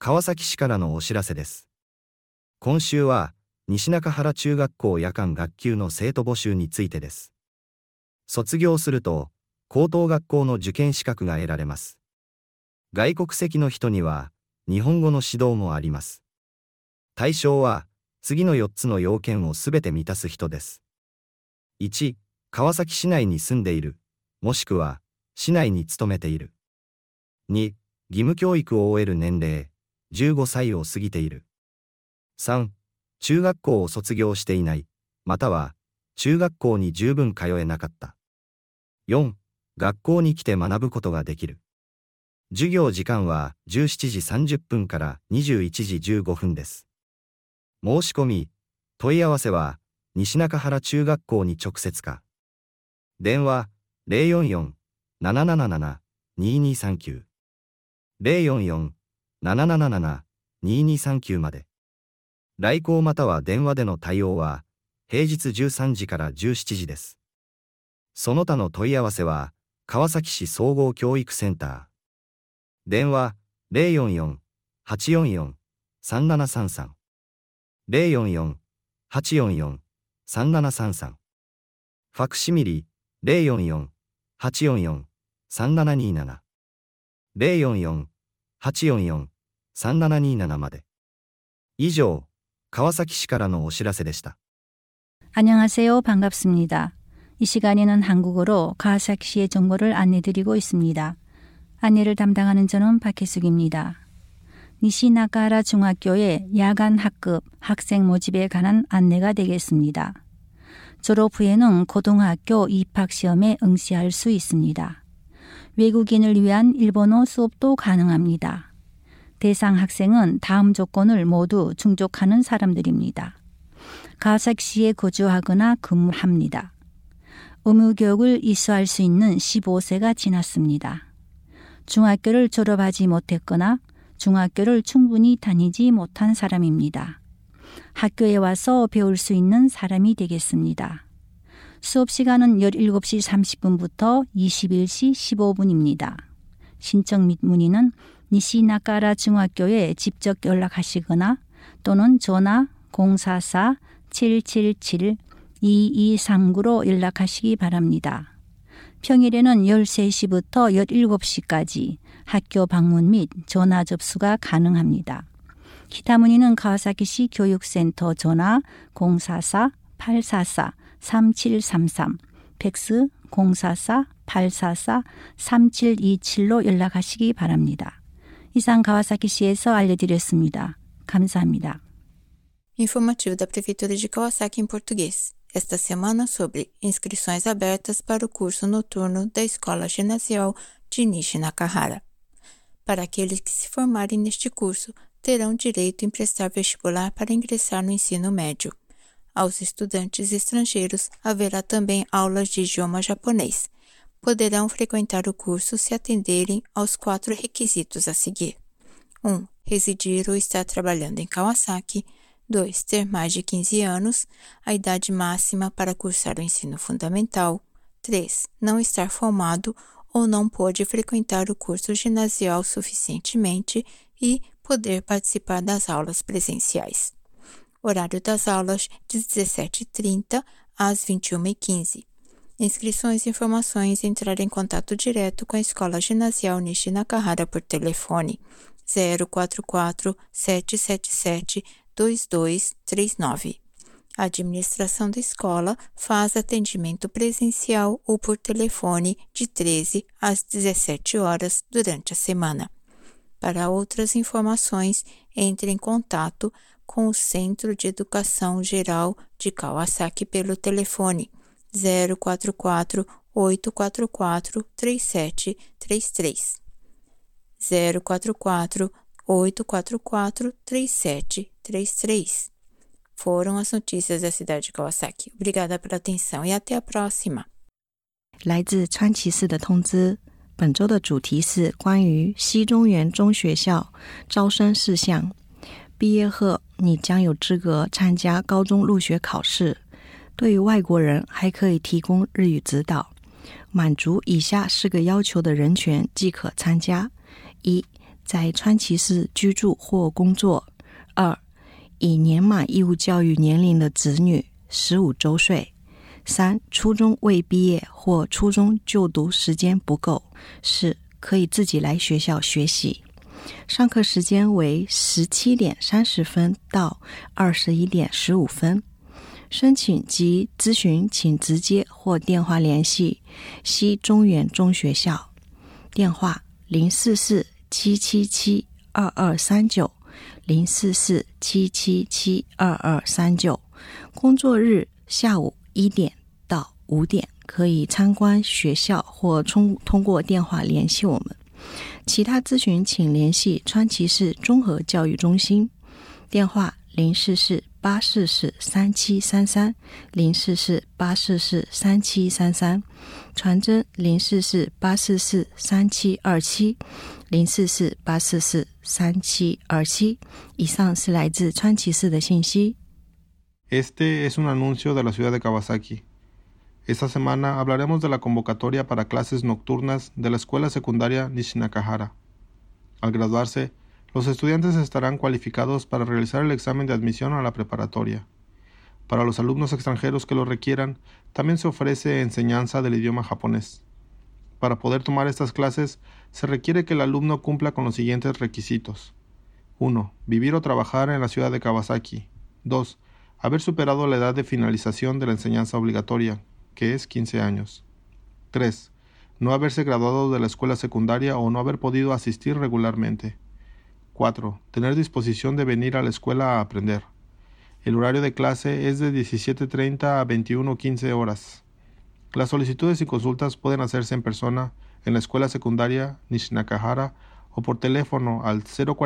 川崎市からのお知らせです。今週は、西中原中学校夜間学級の生徒募集についてです。卒業すると、高等学校の受験資格が得られます。外国籍の人には、日本語の指導もあります。対象は、次の4つの要件をすべて満たす人です。1、川崎市内に住んでいる、もしくは、市内に勤めている。2、義務教育を終える年齢、15歳を過ぎている。3、中学校を卒業していない、または、中学校に十分通えなかった。4、学校に来て学ぶことができる。授業時間は17時30分から21時15分です。申し込み、問い合わせは、西中原中学校に直接か。電話、044-777-2239。044-777-2239まで。来校または電話での対応は、平日13時から17時です。その他の問い合わせは、川崎市総合教育センター。電話、044-844-3733。044-844-3733。ファクシミリ、044-844-3727。044-844-3727まで。以上、川崎市からのお知らせでした。 안녕하세요. 반갑습니다. 이 시간에는 한국어로 가와사키시의 정보를 안내드리고 있습니다. 안내를 담당하는 저는 박혜숙입니다. 니시나가라 중학교의 야간 학급 학생 모집에 관한 안내가 되겠습니다. 졸업 후에는 고등학교 입학시험에 응시할 수 있습니다. 외국인을 위한 일본어 수업도 가능합니다. 대상 학생은 다음 조건을 모두 충족하는 사람들입니다. 가와사키시에 거주하거나 근무합니다. 의무교육을 이수할 수 있는 15세가 지났습니다. 중학교를 졸업하지 못했거나 중학교를 충분히 다니지 못한 사람입니다. 학교에 와서 배울 수 있는 사람이 되겠습니다. 수업 시간은 17시 30분부터 21시 15분입니다. 신청 및 문의는 니시나가라 중학교에 직접 연락하시거나 또는 전화 044-777-2239로 연락하시기 바랍니다. 평일에는 13시부터 17시까지 학교 방문 및 전화 접수가 가능합니다. 기타 문의는 가와사키시 교육센터 전화 044-844-3733, 팩스 044-844-3727로 연락하시기 바랍니다. 이상 가와사키시에서 알려드렸습니다. 감사합니다. Informativo da Prefeitura de Kawasaki em português. Esta semana sobre inscrições abertas para o curso noturno da Escola Ginasial de Nishi Nakahara. Para aqueles que se formarem neste curso, terão direito em prestar vestibular para ingressar no ensino médio. Aos estudantes estrangeiros haverá também aulas de idioma japonês. Poderão frequentar o curso se atenderem aos 4 requisitos a seguir. 1. Residir ou estar trabalhando em Kawasaki. 2. Ter mais de 15 anos, a idade máxima para cursar o ensino fundamental. 3. Não estar formado ou não pode frequentar o curso ginasial suficientemente e poder participar das aulas presenciais. Horário das aulas de 17h30 às 21h15. Inscrições e informações entrar em contato direto com a Escola Ginasial Nishi Nakahara por telefone 044-777-2239. A administração da escola faz atendimento presencial ou por telefone de 13 às 17 horas durante a semana. Para outras informações, entre em contato com o Centro de Educação Geral de Kawasaki pelo telefone 044-844-3733. 044-844-3733. Foram as notícias da cidade de Kawasaki. Obrigada pela atenção e até a próxima. 来自川崎市的通知，本周的主题是关于西中原中学校招生事项。毕业后，你将有资格参加高中入学考试。对于外国人，还可以提供日语指导。满足以下4个要求的人权即可参加： 1. 在川崎市居住或工作。2. 已年满义务教育年龄的子女15周岁。3. 初中未毕业或初中就读时间不够。4. 可以自己来学校学习。上课时间为17点30分到21点15分。申请及咨询请直接或电话联系西中原中学校，电话044-777-2239 044-777-2239。工作日下午1点到5点，可以参观学校或通过电话联系我们。其他咨询请联系川崎市综合教育中心，电话044-844-3733 044-844-3733，传真044-844-3727 044-844-3727。以上是来自川崎市的信息。 Este es un anuncio de la ciudad de Kawasaki. Esta semana hablaremos de la convocatoria para clases nocturnas de la escuela secundaria Nishinakahara. Al graduarse, los estudiantes estarán cualificados para realizar el examen de admisión a la preparatoria. Para los alumnos extranjeros que lo requieran, también se ofrece enseñanza del idioma japonés. Para poder tomar estas clases, se requiere que el alumno cumpla con los siguientes requisitos. 1. Vivir o trabajar en la ciudad de Kawasaki. 2. Haber superado la edad de finalización de la enseñanza obligatoria, que es 15 años. 3. No haberse graduado de la escuela secundaria o no haber podido asistir regularmente. 4. Tener disposición de venir a la escuela a aprender. El horario de clase es de 17:30 a 21:15 horas. Las solicitudes y consultas pueden hacerse en persona en la escuela secundaria Nishinakahara o por teléfono al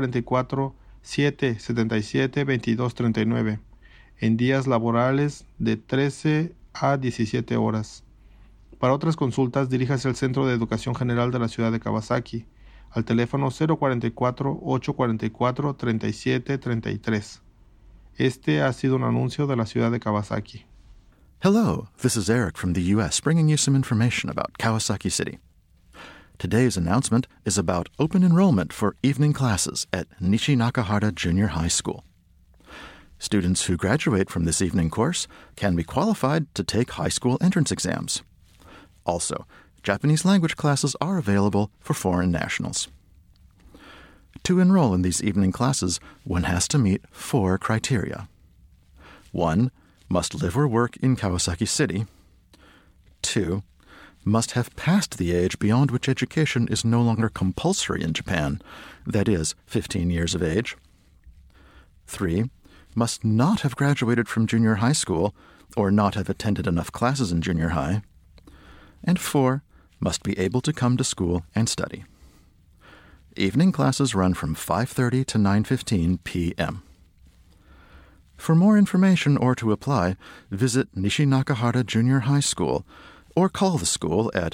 044-777-2239 en días laborales de 13 a 17 horas. Para otras consultas, diríjase al Centro de Educación General de la ciudad de Kawasaki, al teléfono 044-844-3733. Este ha sido un anuncio de la ciudad de Kawasaki. Hello, this is Eric from the U.S. bringing you some information about Kawasaki City. Today's announcement is about open enrollment for evening classes at Nishinakahara Junior High School. Students who graduate from this evening course can be qualified to take high school entrance exams. Also, Japanese language classes are available for foreign nationals. To enroll in these evening classes, one has to meet 4 criteria. 1. Must live or work in Kawasaki City. 2. Must have passed the age beyond which education is no longer compulsory in Japan, that is, 15 years of age. 3. Must not have graduated from junior high school or not have attended enough classes in junior high. And 4. Must be able to come to school and study. Evening classes run from 5:30 to 9:15 p.m. For more information or to apply, visit Nishinakahara Junior High School or call the school at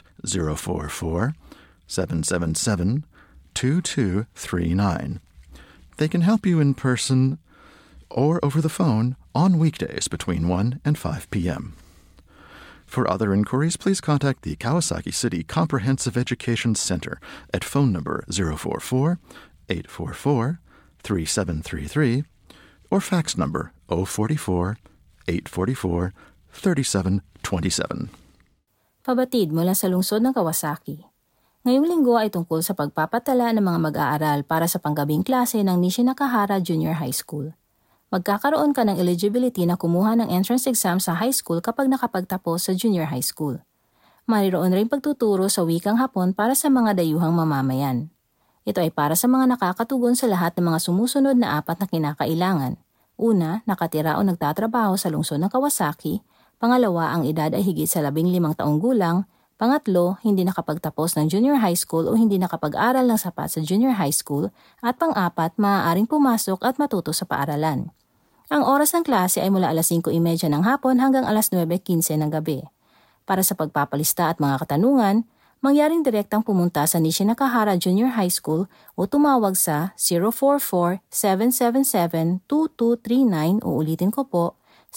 044-777-2239. They can help you in person or over the phone on weekdays between 1 and 5 p.m. For other inquiries, please contact the Kawasaki City Comprehensive Education Center at phone number 044-844-3733 or fax number 044-844-3727. Pabatid mula sa lungsod ng Kawasaki. Ngayong linggo ay tungkol sa pagpapatala ng mga mag-aaral para sa panggabing klase ng Nishinakahara Junior High School. Magkakaroon ka ng eligibility na kumuha ng entrance exam sa high school kapag nakapagtapos sa junior high school. Mayroon rin pagtuturo sa wikang Hapon para sa mga dayuhang mamamayan. Ito ay para sa mga nakakatugon sa lahat ng mga sumusunod na 4 na kinakailangan. Una, nakatira o nagtatrabaho sa lungsod ng Kawasaki. Pangalawa, ang edad ay higit sa 15 taong gulang. Pangatlo, hindi nakapagtapos ng junior high school o hindi nakapag-aral ng sapat sa junior high school. At pang-apat, maaaring pumasok at matuto sa paaralan. Ang oras ng klase ay mula alas 5:30 ng hapon hanggang alas 9:15 ng gabi. Para sa pagpapalista at mga katanungan, mangyaring direktang pumunta sa Nishinakahara Junior High School o tumawag sa 044-777-2239 o ulitin ko po,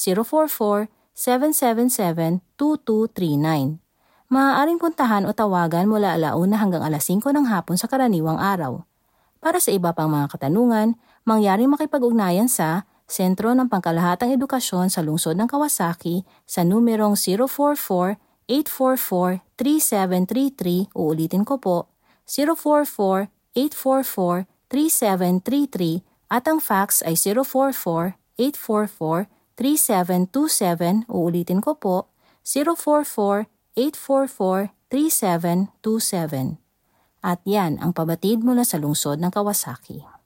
044-777-2239. Maaaring puntahan o tawagan mula 1:00 hanggang alas 5 ng hapon sa karaniwang araw. Para sa iba pang mga katanungan, mangyaring makipag-ugnayan sa Sentro ng Pangkalahatang Edukasyon sa Lungsod ng Kawasaki sa numerong 044-844-3733, uulitin ko po, 044-844-3733 at ang fax ay 044-844-3727, uulitin ko po, 044-844-3727. At yan ang pabatid mula sa lungsod ng Kawasaki.